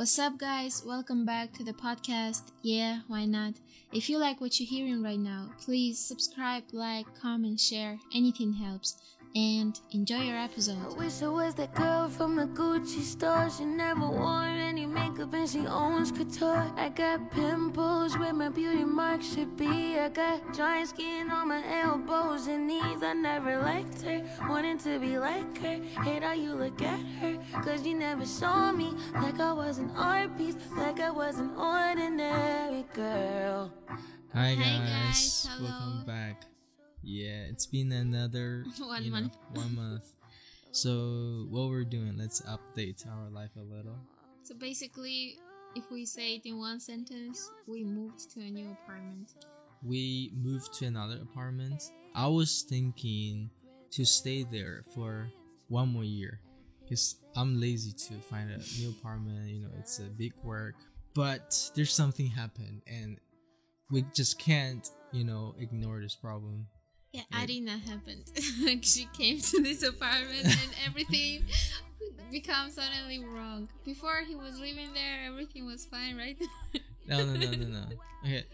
What's up, guys? Welcome back to the podcast. Yeah, why not? If you like what you're hearing right now, please subscribe, like, comment, share. Anything helps. And enjoy your episode. I wish I was that girl from the Gucci store. She never wore any makeup and she owns couture. I got pimples where my beauty mark should be. I got dry skin on my elbows and knees. I never liked her, wanting to be like her. Hate how you look at her, cause you never saw me like I was an art piece, like I was an ordinary girl. Hi Hi, guys, guys. Hello. welcome back. Yeah, it's been another 1 month. 1 month. So what we're doing, let's update our life a little. So basically, if we say it in one sentence, we moved to a new apartment. We moved to another apartment. I was thinking to stay there for 1 more year because I'm lazy to find a new apartment. It's a big work. But there's something happened and we just can't, ignore this problem. Yeah, Arina happened. She came to this apartment and everything becomes suddenly wrong. Before he was living there, everything was fine, right? No. Okay.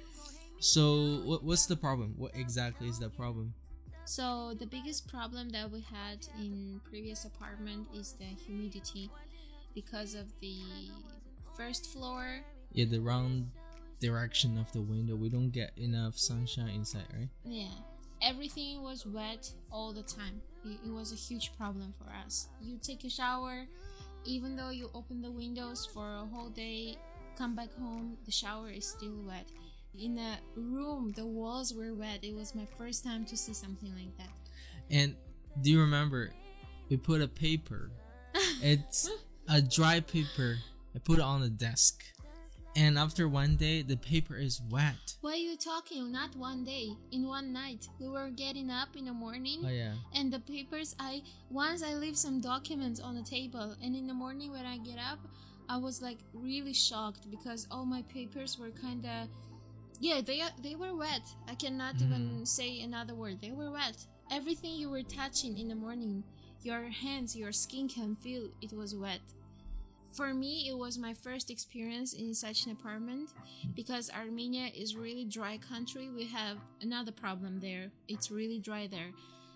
So what's the problem? What exactly is the problem? So the biggest problem that we had in previous apartment is the humidity because of the first floor. Yeah, the wrong direction of the window. We don't get enough sunshine inside, right? Yeah. Everything was wet all the time. It was a huge problem for us. You take a shower, even though you open the windows for a whole day, come back home, the shower is still wet. In the room, the walls were wet. It was my first time to see something like that. And do you remember we put a paper? It's a dry paper. I put it on the desk. And after 1 day, the paper is wet. What are you talking? Not 1 day. In one night. We were getting up in the morning. Oh yeah. And the papers, once I leave some documents on the table. And in the morning when I get up, I was like really shocked because all my papers were kind of... Yeah, they were wet. I cannot even say another word. They were wet. Everything you were touching in the morning, your hands, your skin can feel it was wet. For me, it was my first experience in such an apartment because Armenia is really dry country. We have another problem there. It's really dry there.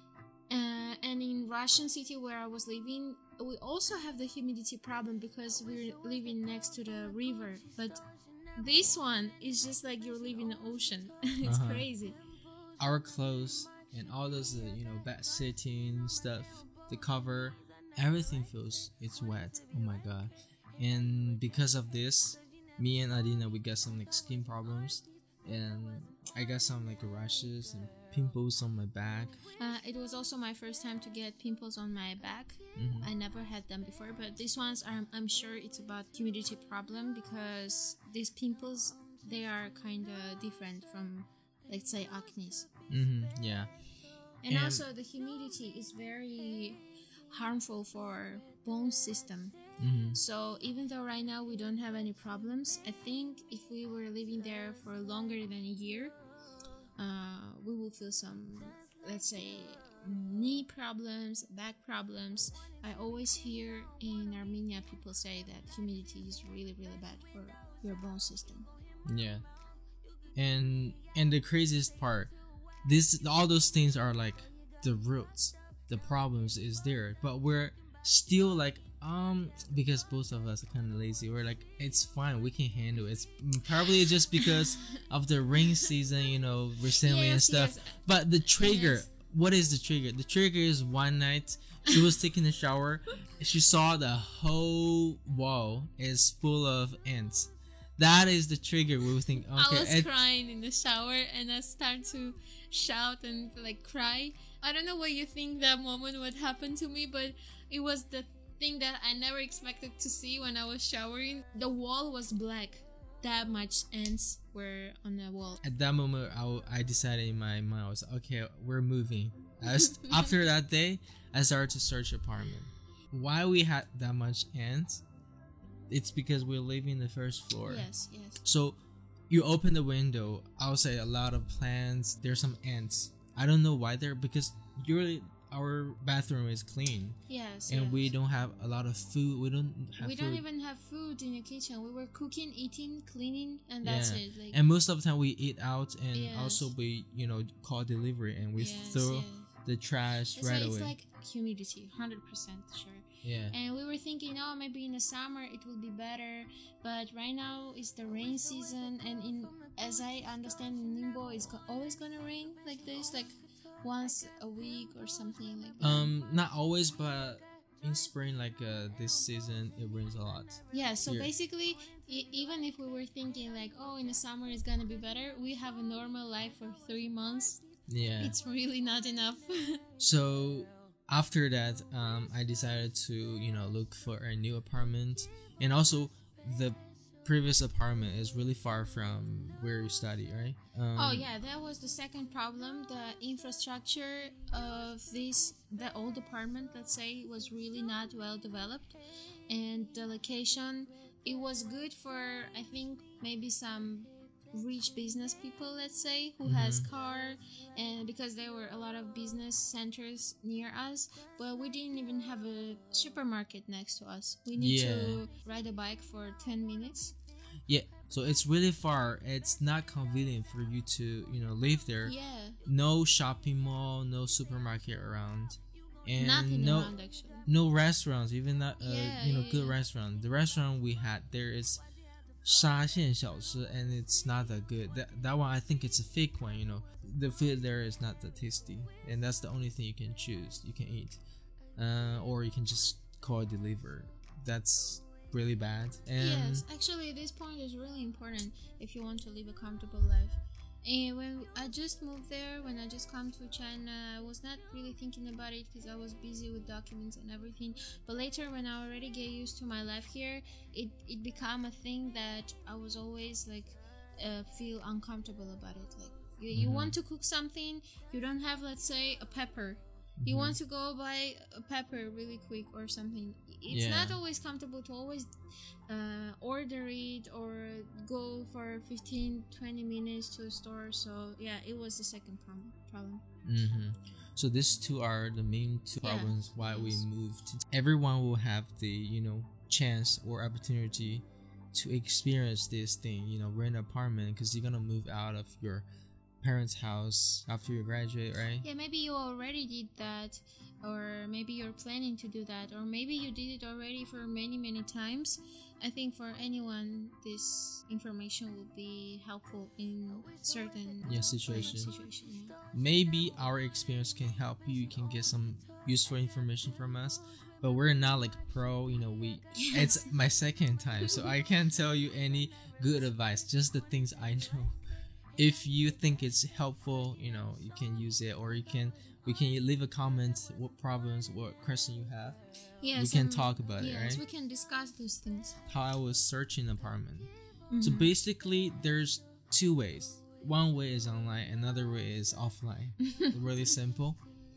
And in Russian city where I was living, we also have the humidity problem because we're living next to the river. But this one is just like you're living in the ocean. It's crazy. Our clothes and all those, bed sitting stuff, the cover, everything feels it's wet. Oh my god. And because of this, me and Adina, we got some like skin problems, and I got some like rashes and pimples on my back. It was also my first time to get pimples on my back. I never had them before, but these ones I'm sure it's about humidity problem because these pimples, they are kind of different from, let's say, acne. Yeah. And also the humidity is very harmful for bone system. So even though right now we don't have any problems, I think if we were living there for longer than a year, we will feel some, let's say, knee problems, back problems. I always hear in Armenia people say that humidity is really, really bad for your bone system. Yeah. And the craziest part, all those things are like the roots. The problems is there, but we're still like because both of us are kind of lazy. We're like, it's fine, we can handle it. It's probably just because of the rain season, recently and stuff. Yes. But the trigger, what is the trigger? The trigger is one night she was taking a shower, she saw the whole wall is full of ants. That is the trigger. We would think, okay, I was crying in the shower and I started to shout and like cry. I don't know what you think that moment would happen to me, but it was the thing that I never expected to see when I was showering. The wall was black. That much ants were on the wall. At that moment, I decided in my mind, I was like, okay, we're moving. After that day, I started to search apartment. Why we had that much ants? It's because we're living the first floor. Yes. So you open the window, outside a lot of plants, there's some ants. I don't know why they're, because our bathroom is clean. Yes. And yes. we don't have a lot of food. We don't have We food. don't even have food in the kitchen. We were cooking, eating, cleaning, and that's it. Like, And most of the time we eat out, and Yes. also we call delivery, and we yes, throw yes. the trash It's right like, away. It's like humidity, 100% sure. Yeah. And we were thinking, oh, maybe in the summer it will be better. But right now it's the rain season, and as I understand, in Ningbo it's always gonna rain like this, like once a week or something like that. Not always, but in spring, like this season, it rains a lot. Yeah, so Here. basically, even if we were thinking like, oh, in the summer it's gonna be better, we have a normal life for 3 months. Yeah. It's really not enough. So after that, I decided to look for a new apartment, and also the previous apartment is really far from where you study, right? Oh yeah, that was the second problem. The infrastructure of the old apartment, let's say, was really not well developed, and the location, it was good for, I think, maybe some rich business people, let's say, who has car, and because there were a lot of business centers near us, but we didn't even have a supermarket next to us. We need to ride a bike for 10 minutes. Yeah, so it's really far. It's not convenient for you to live there. Yeah, No shopping mall, no supermarket around, and nothing around actually. no restaurants, even that good yeah. restaurant. The restaurant we had there is 沙县小吃, and it's not that good. That one, I think it's a fake one. The food there is not that tasty, and that's the only thing you can choose. You can eat, or you can just call it deliver. That's really bad. And Yes, actually, this point is really important if you want to live a comfortable life. And when I just moved there, when I just come to China, I was not really thinking about it because I was busy with documents and everything. But later, when I already get used to my life here, it became a thing that I was always like feel uncomfortable about it. Like you want to cook something, you don't have, let's say, a pepper. You want to go buy a pepper really quick or something. It's not always comfortable to always order it or go for 15-20 minutes to a store. So yeah, it was the second problem. So these two are the main two Yeah, problems why we yes. moved. Everyone will have the chance or opportunity to experience this thing, rent an apartment, because you're gonna move out of your parents' house after you graduate, right? Yeah, maybe you already did that, or maybe you're planning to do that, or maybe you did it already for many times. I think for anyone, this information will be helpful in certain Situation. Yeah. Maybe our experience can help you. You can get some useful information from us, but we're not like pro. It's my second time, so I can't tell you any good advice. Just the things I know. If you think it's helpful, you can use it, or we can leave a comment what problems, what question you have. Yes, we can and- talk about it, yes, right? we can discuss those things. How I was searching an apartment. So basically, there's two ways. One way is online, another way is offline. Really simple.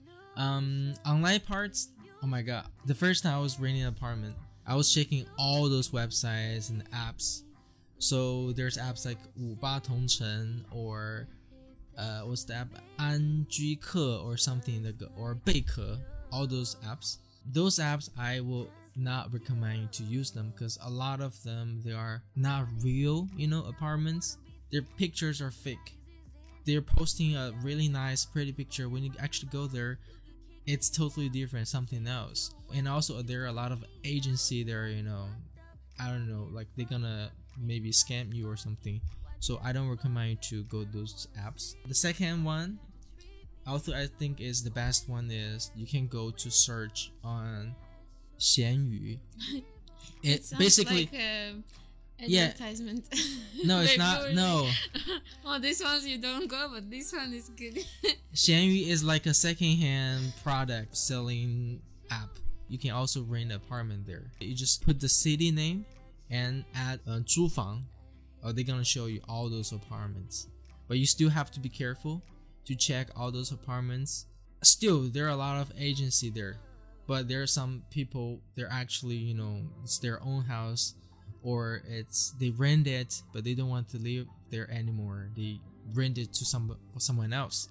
Online parts, oh my god. The first time I was renting an apartment, I was checking all those websites and apps. So there's apps like 58同城 or what's the app? 安居客 or something like, or 贝壳, all those apps. Those apps, I will not recommend you to use them because a lot of them, they are not real, apartments. Their pictures are fake. They're posting a really nice, pretty picture. When you actually go there, it's totally different, something else. And also, there are a lot of agency there, I don't know, like they're gonna maybe scam you or something. So I don't recommend you to go those apps. The second one, also I think is the best one, is you can go to search on 闲鱼. It Sounds basically like Yeah. advertisement. no, it's Like not. yours. No, Oh, this one's you don't go, but this one is good. 闲鱼 is like a secondhand product selling app. You can also rent an apartment there. You just put the city name and add 租房. They're gonna show you all those apartments. But you still have to be careful to check all those apartments. Still, there are a lot of agency there, but there are some people, they're actually, it's their own house, or they rent it, but they don't want to live there anymore. They rent it to someone else.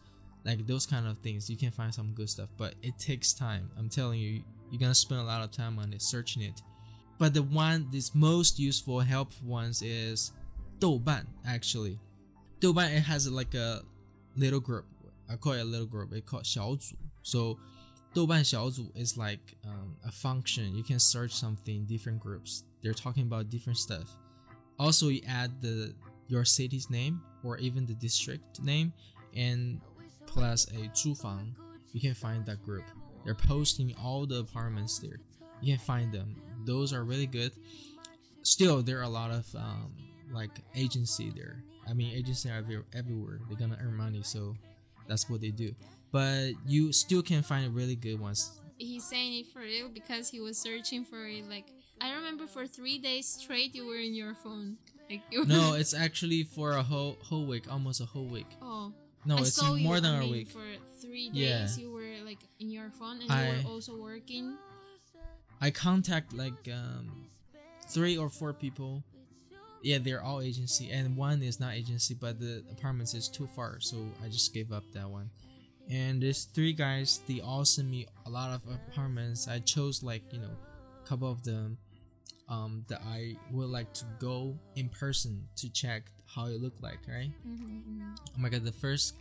like those kind of things. You can find some good stuff, but it takes time. I'm telling you, you're gonna spend a lot of time on it, searching it. But the one that's most useful, helpful ones is 豆瓣. Actually, 豆瓣, it has like a little group. I call it a little group. It's called 小组. So 豆瓣小组 is like a function. You can search something, different groups. They're talking about different stuff. Also, you add your city's name or even the district name, and plus a 租房. You can find that group. They're posting all the apartments there. You can find them. Those are really good. Still, there are a lot of like agency there. I mean, agency are everywhere. They're gonna earn money, so that's what they do. But you still can find really good ones. He's saying it for real because he was searching for it. Like, I remember for 3 days straight you were in your phone. Like, No, it's actually for a whole week, almost a whole week. Oh. No, I it's saw more you, than I a mean, week. For 3 Yeah. days you were like in your phone, and you were also working. I contact like 3 or 4 people. Yeah, they're all agency, and one is not agency, but the apartments is too far, so I just gave up that one. And these 3 guys, they all sent me a lot of apartments. I chose like, you know, a couple of them that I would like to go in person to check how it looked like, right? Oh my god, the first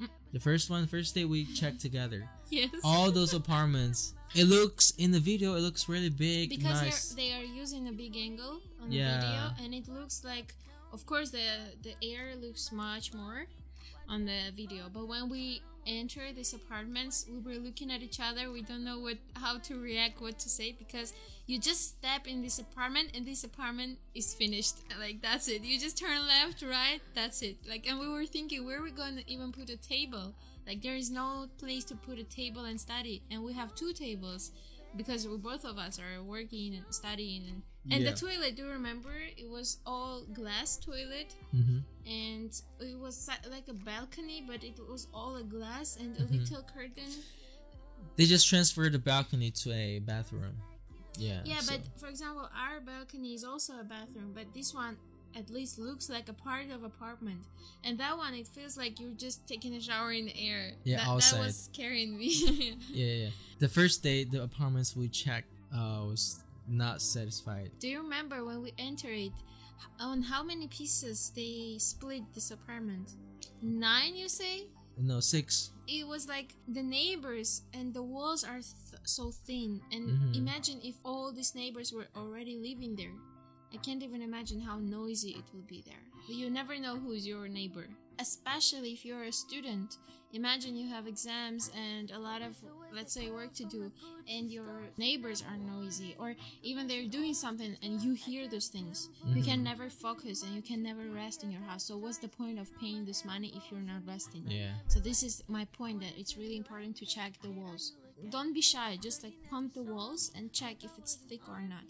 day we checked together. Yes. All those apartments. It looks in the video. It looks really big, because nice. they are using a big angle on the Yeah. video, and it looks like, of course, the air looks much more on the video. But when we enter these apartments, we were looking at each other. We don't know how to react, what to say, because you just step in this apartment and this apartment is finished. Like, that's it. You just turn left, right, that's it. Like, and we were thinking, where are we going to even put a table? Like, there is no place to put a table and study, and we have 2 tables because both of us are working and studying. And Yeah. the toilet, do you remember? It was all glass toilet, and it was like a balcony, but it was all a glass and a little curtain. They just transferred the balcony to a bathroom. Yeah. Yeah, so- but for example, our balcony is also a bathroom, but this one at least looks like a part of apartment, and that one, it feels like you're just taking a shower in the air. Yeah, that outside. was scaring me. yeah. The first day, the apartments we checked was not satisfied. Do you remember when we entered it, on how many pieces they split this apartment? 9, you say? No, 6. It was like the neighbors, and the walls are so thin, and imagine if all these neighbors were already living there. I can't even imagine how noisy it will be there. But you never know who's your neighbor, especially if you're a student. Imagine you have exams and a lot of, let's say, work to do, and your neighbors are noisy, or even they're doing something and you hear those things. You can never focus and you can never rest in your house. So what's the point of paying this money if you're not resting? Yeah. So this is my point, that it's really important to check the walls. Don't be shy, just like pump the walls and check if it's thick or not.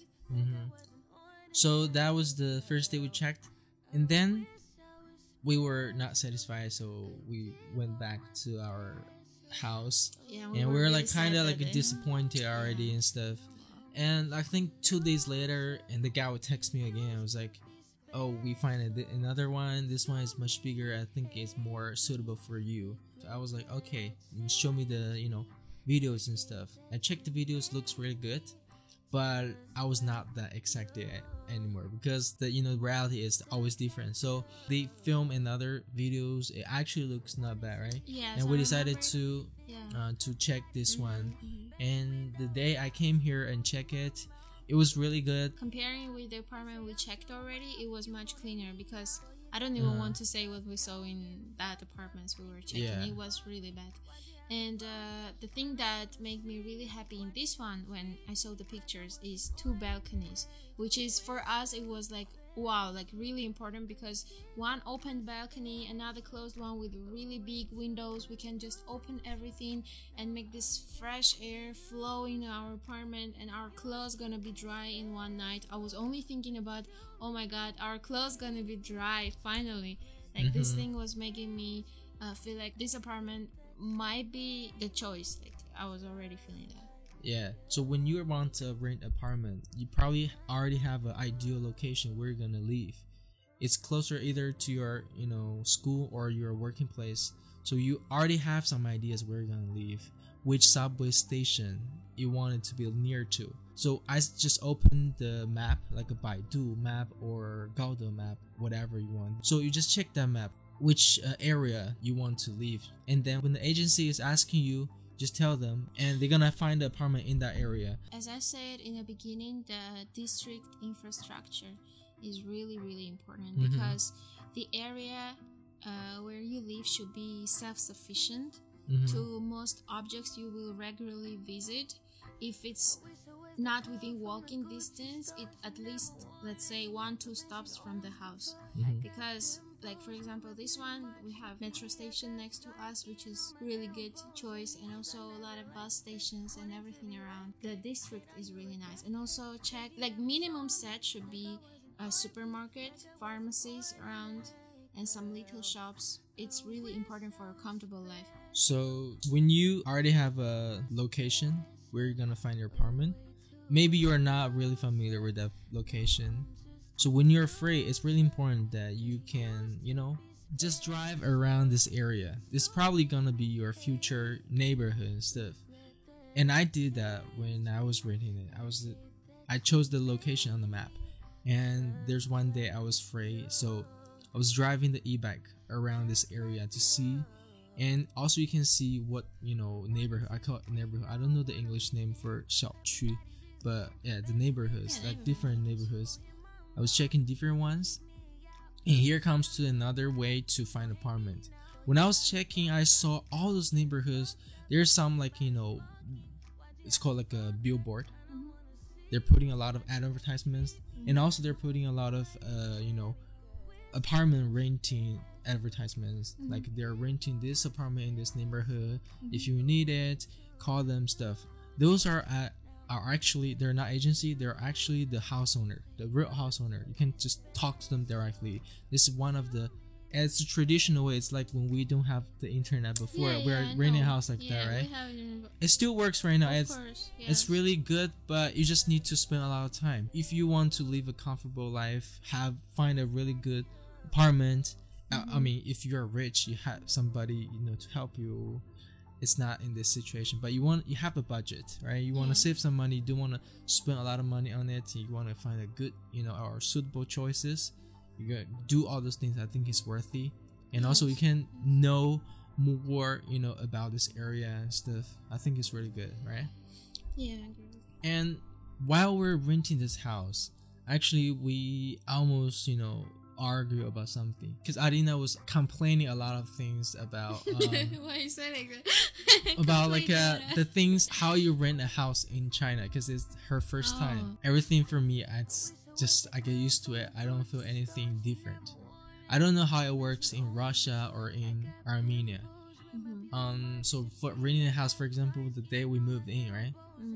So that was the first day we checked, and then we were not satisfied, so we went back to our house. Yeah, And we were really like kind sad of that like day. disappointed already and stuff. And I think 2 days later, and the guy would text me again. I was like, "Oh, we find another one. This one is much bigger. I think it's more suitable for you." So I was like, "Okay, and show me the videos and stuff." I checked the videos. Looks really good, but I was not that excited anymore because the reality is always different. So they film in other videos. It actually looks not bad, right? Yes, And I we decided remember. to check this one. And the day I came here and check it, it was really good. Comparing with the apartment we checked already, it was much cleaner, because I don't even want to say what we saw in that apartments we were checking. Yeah. It was really bad. And the thing that made me really happy in this one, when I saw the pictures, is 2 balconies, which is, for us, it was like, wow, like really important, because one open balcony, another closed one with really big windows. We can just open everything and make this fresh air flow in our apartment, and our clothes gonna be dry in one night. I was only thinking about, oh my god, our clothes gonna be dry finally. Like, this thing was making me feel like this apartment might be the choice. Like, I was already feeling that. Yeah. So when you want to rent an apartment, you probably already have an ideal location where you're gonna live. It's closer either to your school or your working place. So you already have some ideas where you're gonna live, which subway station you want it to be near to. So I just opened the map, like a Baidu map or Gaode map, whatever you want. So you just check that map, which area you want to live, and then when the agency is asking you, just tell them, and they're gonna find the apartment in that area. As I said in the beginning, the district infrastructure is really, really important because the area where you live should be self-sufficient to most objects you will regularly visit. If it's not within walking distance, it at least, let's say, 1-2 stops from the house. Because, like, for example, this one, we have metro station next to us, which is really good choice, and also a lot of bus stations and everything around. The district is really nice. And also check, like, minimum set should be a supermarket, pharmacies around, and some little shops. It's really important for a comfortable life. So when you already have a location where you're gonna find your apartment, maybe you're not really familiar with that location. So when you're afraid, it's really important that you can, just drive around this area. It's probably gonna be your future neighborhood and stuff. And I did that when I was renting it. I chose the location on the map. And there's one day I was afraid, so I was driving the e-bike around this area to see. And also you can see what, neighborhood. I call it neighborhood. I don't know the English name for 小区, but yeah, the neighborhoods, like different neighborhoods. I was checking different ones. And here comes to another way to find apartment. When I was checking, I saw all those neighborhoods. There's some it's called like a billboard. They're putting a lot of advertisements, and also they're putting a lot of apartment renting advertisements. Like they're renting this apartment in this neighborhood. If you need it, call them stuff. Those are actually, they're not agency, they're actually the house owner, the real house owner. You can just talk to them directly. This is one of the, it's a traditional way. It's like when we don't have the internet before, we're renting a house like that, right? It still works right now. It's really good, but you just need to spend a lot of time. If you want to live a comfortable life, find a really good apartment. I mean, if you're rich, you have somebody to help you. It's not in this situation, but you have a budget, right? You want to save some money. You don't want to spend a lot of money on it. You want to find a good, or suitable choices. You gotta do all those things. I think it's worthy, and also you can know more, about this area and stuff. I think it's really good, right? Yeah, I agree. And while we're renting this house, actually we almost, argue about something, because Adina was complaining a lot of things about why you say like that? about the things, how you rent a house in China, because it's her first time. Everything for me, it's just, I get used to it. I don't feel anything different. I don't know how it works in Russia or in Armenia. So for renting a house, for example, the day we moved in, right?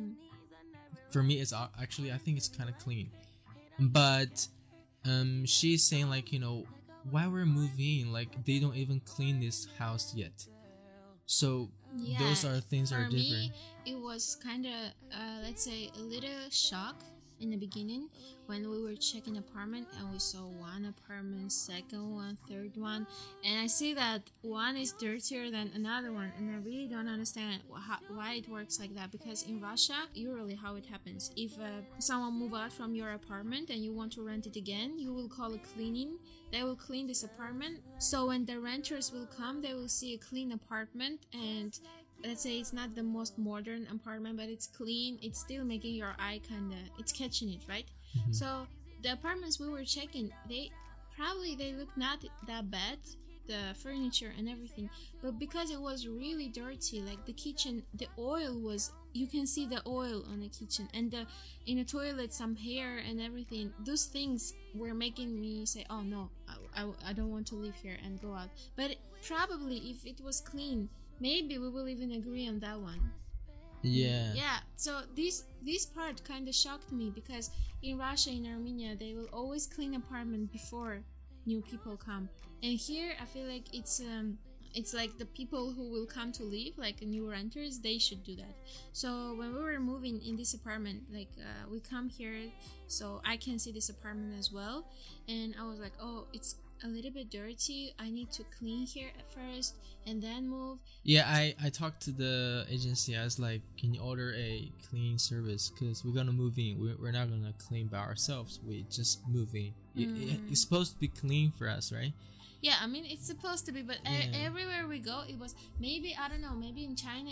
For me, it's actually, I think it's kind of clean, but she's saying while we're moving, they don't even clean this house yet. So those are things that are different. For me, it was kind of let's say a little shock in the beginning when we were checking apartment and we saw one apartment, second one, third one, and I see that one is dirtier than another one, and I really don't understand why it works like that. Because in Russia, usually how it happens, if someone move out from your apartment and you want to rent it again, you will call a cleaning. They will clean this apartment, so when the renters will come, they will see a clean apartment, and let's say it's not the most modern apartment, but it's clean. It's still making your eye it's catching it, right? So the apartments we were checking, they look not that bad, the furniture and everything, but because it was really dirty, like the kitchen, the oil was, you can see the oil on the kitchen, and in the toilet some hair and everything. Those things were making me say, oh no, I don't want to live here and go out. But probably if it was clean, maybe we will even agree on that one. Yeah. So this part kind of shocked me, because in Russia, in Armenia, they will always clean apartment before new people come, and here I feel like it's like the people who will come to live, like new renters, they should do that. So when we were moving in this apartment, we come here so I can see this apartment as well, and I was like, oh, it's a little bit dirty. I need to clean here at first and then move. Yeah, I talked to the agency. I was like, can you order a cleaning service? Because we're gonna move in. We're not gonna clean by ourselves. We just move in. It's supposed to be clean for us, right? Yeah, I mean it's supposed to be, but everywhere we go, it was maybe, I don't know, maybe in China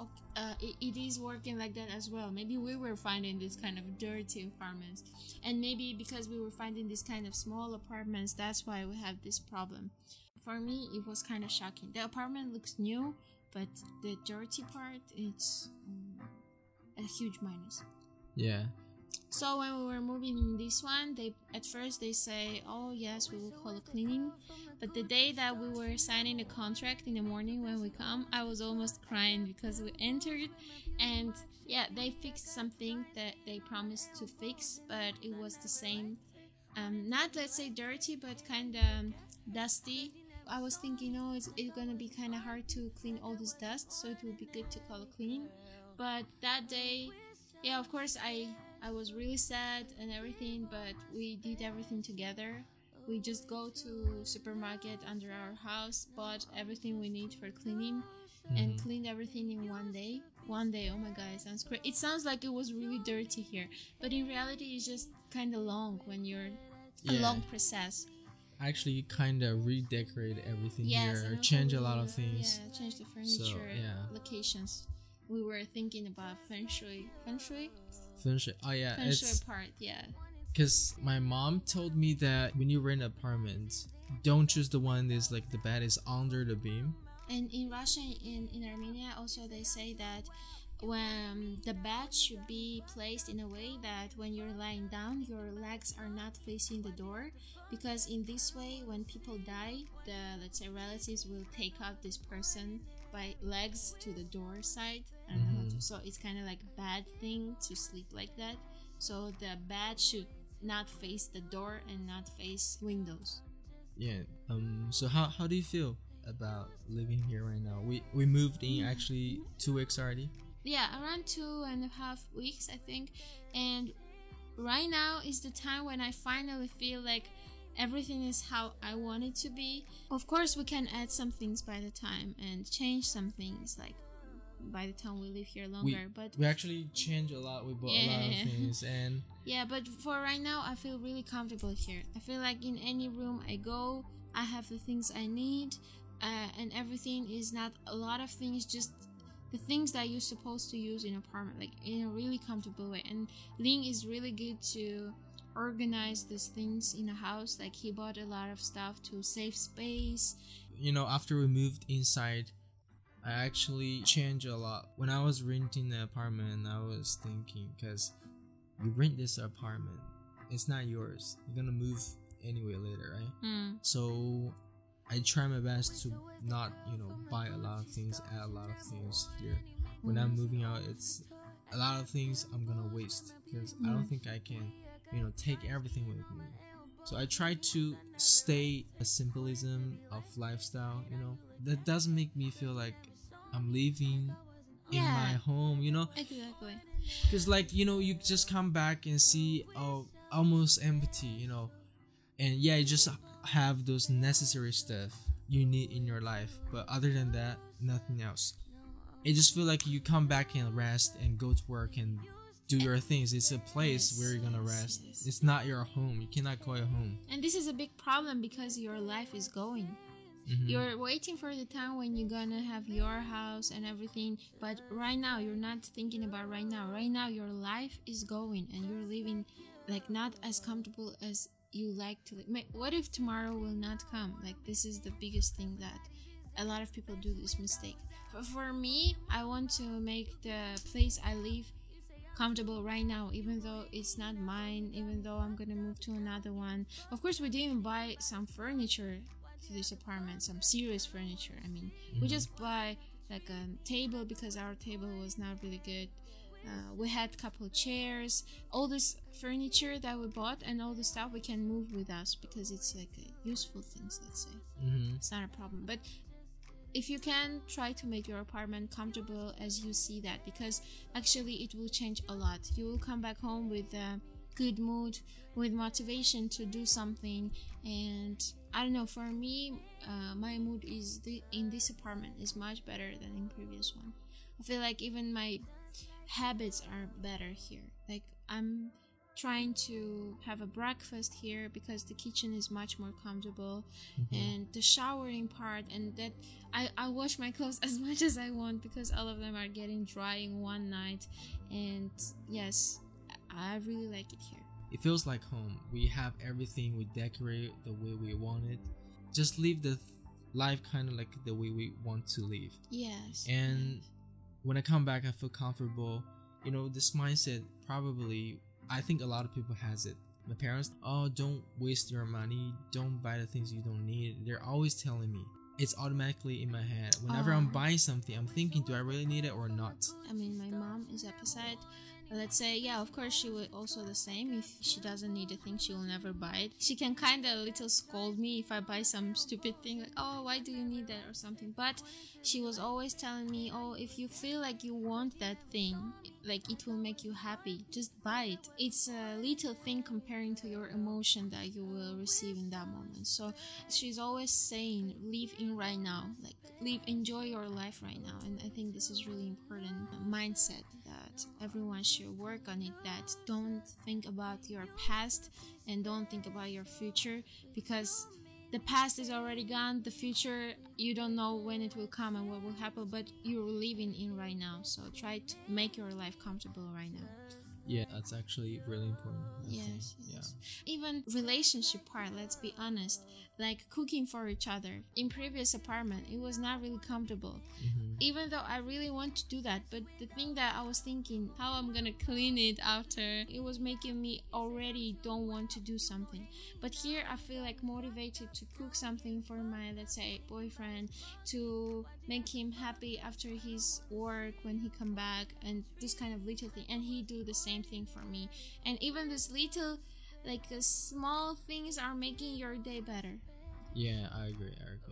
it is working like that as well. Maybe we were finding this kind of dirty apartments, and maybe because we were finding this kind of small apartments, that's why we have this problem. For me, it was kind of shocking. The apartment looks new, but the dirty part, it's a huge minus. Yeah. So when we were moving in this one, at first they say, oh yes, we will call it cleaning. But the day that we were signing the contract in the morning when we come, I was almost crying because we entered and yeah, they fixed something that they promised to fix, but it was the same. Not, let's say, dirty, but kind of dusty. I was thinking, oh, it's going to be kind of hard to clean all this dust, so it would be good to call it cleaning. But that day, yeah, of course, I was really sad and everything, but we did everything together. We just go to supermarket under our house, bought everything we need for cleaning, and cleaned everything in one day. One day, oh my god, it sounds great. It sounds like it was really dirty here, but in reality, it's just kind of long when you're a long process. Actually, kind of redecorate everything Yes, here, and change a also lot of things. Yeah, change the furniture, locations. We were thinking about feng shui. Feng shui. Oh yeah, Feng shui part, yeah. Because my mom told me that when you rent an apartment, don't choose the one that's like the bed is under the beam. And in Russia, in Armenia, also they say that when the bed should be placed in a way that when you're lying down, your legs are not facing the door, because in this way, when people die, the, let's say, relatives will take out this person by legs to the door side. I don't know how to, so it's kind of like a bad thing to sleep like that. So the bed should not face the door and not face windows. Yeah. So how do you feel about living here right now? We moved in actually 2 weeks already. Yeah, around 2.5 weeks, I think. And right now is the time when I finally feel like everything is how I want it to be. Of course, we can add some things by the time and change some things like by the time we live here longer. But we actually change a lot. We bought a lot of things, and yeah. But for right now, I feel really comfortable here. I feel like in any room I go, I have the things I need, and everything is not a lot of things, just the things that you're supposed to use in an apartment, like in a really comfortable way. And Ling is really good to organize these things in a house. Like he bought a lot of stuff to save space. You know, after we moved inside, I actually changed a lot. When I was renting the apartment, I was thinking, because you rent this apartment, it's not yours. You're gonna move anyway later, right? So I try my best to not, buy a lot of things, add a lot of things here. When I'm moving out, it's a lot of things I'm gonna waste, because I don't think I can, take everything with me. So I try to stay a simplism of lifestyle, that doesn't make me feel like I'm living in my home, Exactly. Because you just come back and see almost empty, and you just have those necessary stuff you need in your life, but other than that, nothing else. It just feel like you come back and rest and go to work and do your things. It's a place where you're gonna rest. It's not your home. You cannot call it home. And this is a big problem because your life is going. You're waiting for the time when you're gonna have your house and everything, but right now you're not thinking about right now. Right now your life is going and you're living like not as comfortable as you like to live. What if tomorrow will not come? Like this is the biggest thing that a lot of people do this mistake. For me, I want to make the place I live comfortable right now, even though it's not mine, even though I'm gonna move to another one. Of course, we didn't buy some furniture to this apartment, some serious furniture. I mean, we just buy like a table because our table was not really good. We had a couple of chairs, all this furniture that we bought and all the stuff we can move with us because it's like a useful things, let's say. It's not a problem. But if you can, try to make your apartment comfortable as you see that, because actually it will change a lot. You will come back home with good mood, with motivation to do something. And I don't know, for me, my mood in this apartment is much better than in previous one. I feel like even my habits are better here. Like, I'm trying to have a breakfast here because the kitchen is much more comfortable, and the showering part, and that I wash my clothes as much as I want because all of them are getting dry in one night. And yes, I really like it here. It feels like home. We have everything, we decorate the way we want it. Just live the life kind of like the way we want to live. Yes. And when I come back, I feel comfortable. You know, this mindset probably, I think a lot of people has it. My parents, oh, don't waste your money, don't buy the things you don't need. They're always telling me. It's automatically in my head. Whenever I'm buying something, I'm thinking, do I really need it or not? I mean, my mom is opposite. Let's say, yeah, of course she would also the same. If she doesn't need a thing, she will never buy it. She can kind of little scold me if I buy some stupid thing, like, oh, why do you need that or something. But she was always telling me, oh, if you feel like you want that thing, like it will make you happy, just buy it. It's a little thing comparing to your emotion that you will receive in that moment. So she's always saying, live in right now, like enjoy your life right now. And I think this is really important mindset that everyone should work on it, that don't think about your past and don't think about your future, because the past is already gone. The future, you don't know when it will come and what will happen, but you're living in right now. So try to make your life comfortable right now. Yeah, that's actually really important. Yes. Even relationship part, let's be honest, like cooking for each other. In previous apartment, it was not really comfortable. Even though I really want to do that, but the thing that I was thinking, how I'm gonna clean it after, it was making me already don't want to do something. But here I feel like motivated to cook something for my, let's say, boyfriend, to make him happy after his work when he come back, and this kind of little thing, and he do the same thing for me. And even this little, like, small things are making your day better. Yeah, I agree.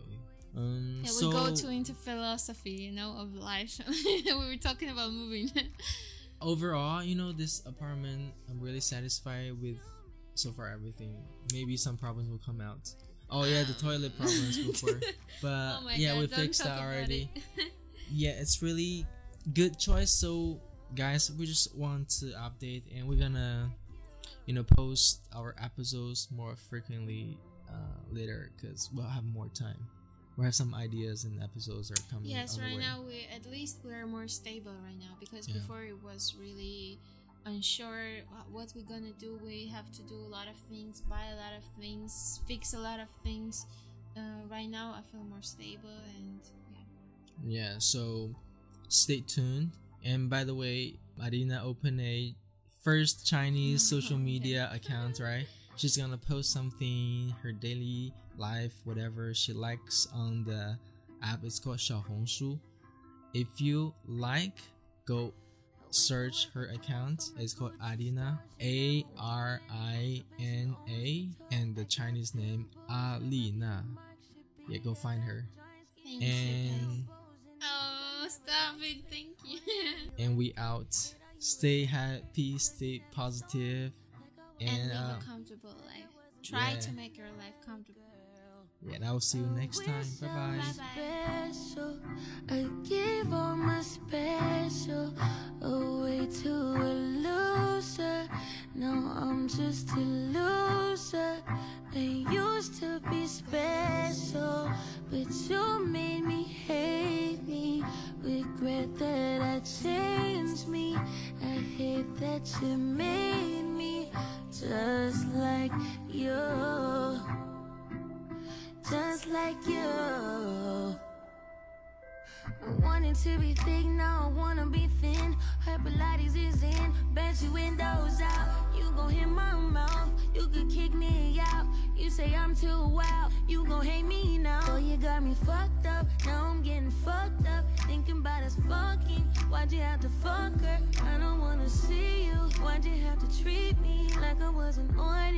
Yeah, so we go into philosophy, you know, of life. We were talking about moving. overall, you know, this apartment, I'm really satisfied with so far everything. Maybe some problems will come out. Oh yeah, the toilet problems before, but Oh my yeah, God, we don't fixed talk that about already. it. Yeah, it's really good choice. So guys, we just want to update, and we're gonna, you know, post our episodes more frequently later, because we'll have more time. We'll have some ideas and episodes are coming. Yes, on the right way. now we're more stable right now, because Yeah. before it was really unsure what we're gonna do. We have to do a lot of things, buy a lot of things, fix a lot of things. Right now I feel more stable, and Yeah, so stay tuned. And by the way, Marina opened a first Chinese social media account, right? She's gonna post something, her daily life, whatever she likes on the app. It's called 小红书. If you like, go search her account. It's called Arina, Arina, and the Chinese name Alina. Yeah, go find her. thank you. And Oh, stop it! Thank you. and we out. Stay happy, stay positive, And and live a comfortable life. Try yeah. to make your life comfortable. yeah, and I will see you next time. Bye bye. Bye-bye. Special, I give all my special away to a loser. Now I'm just a loser. I used to be special, but you made me hate me. Regret that I changed me. I hate that you made me just like you. Just like you. I wanted to be thick, now I wanna be thin. Her Pilates is in, bet you windows out. You gon' hit my mouth, you could kick me out. You say I'm too wild, you gon' hate me now. Oh, you got me fucked up, now I'm getting fucked up. Thinking about us fucking, why'd you have to fuck her? I don't wanna see you, why'd you have to treat me like I wasn't ordinary?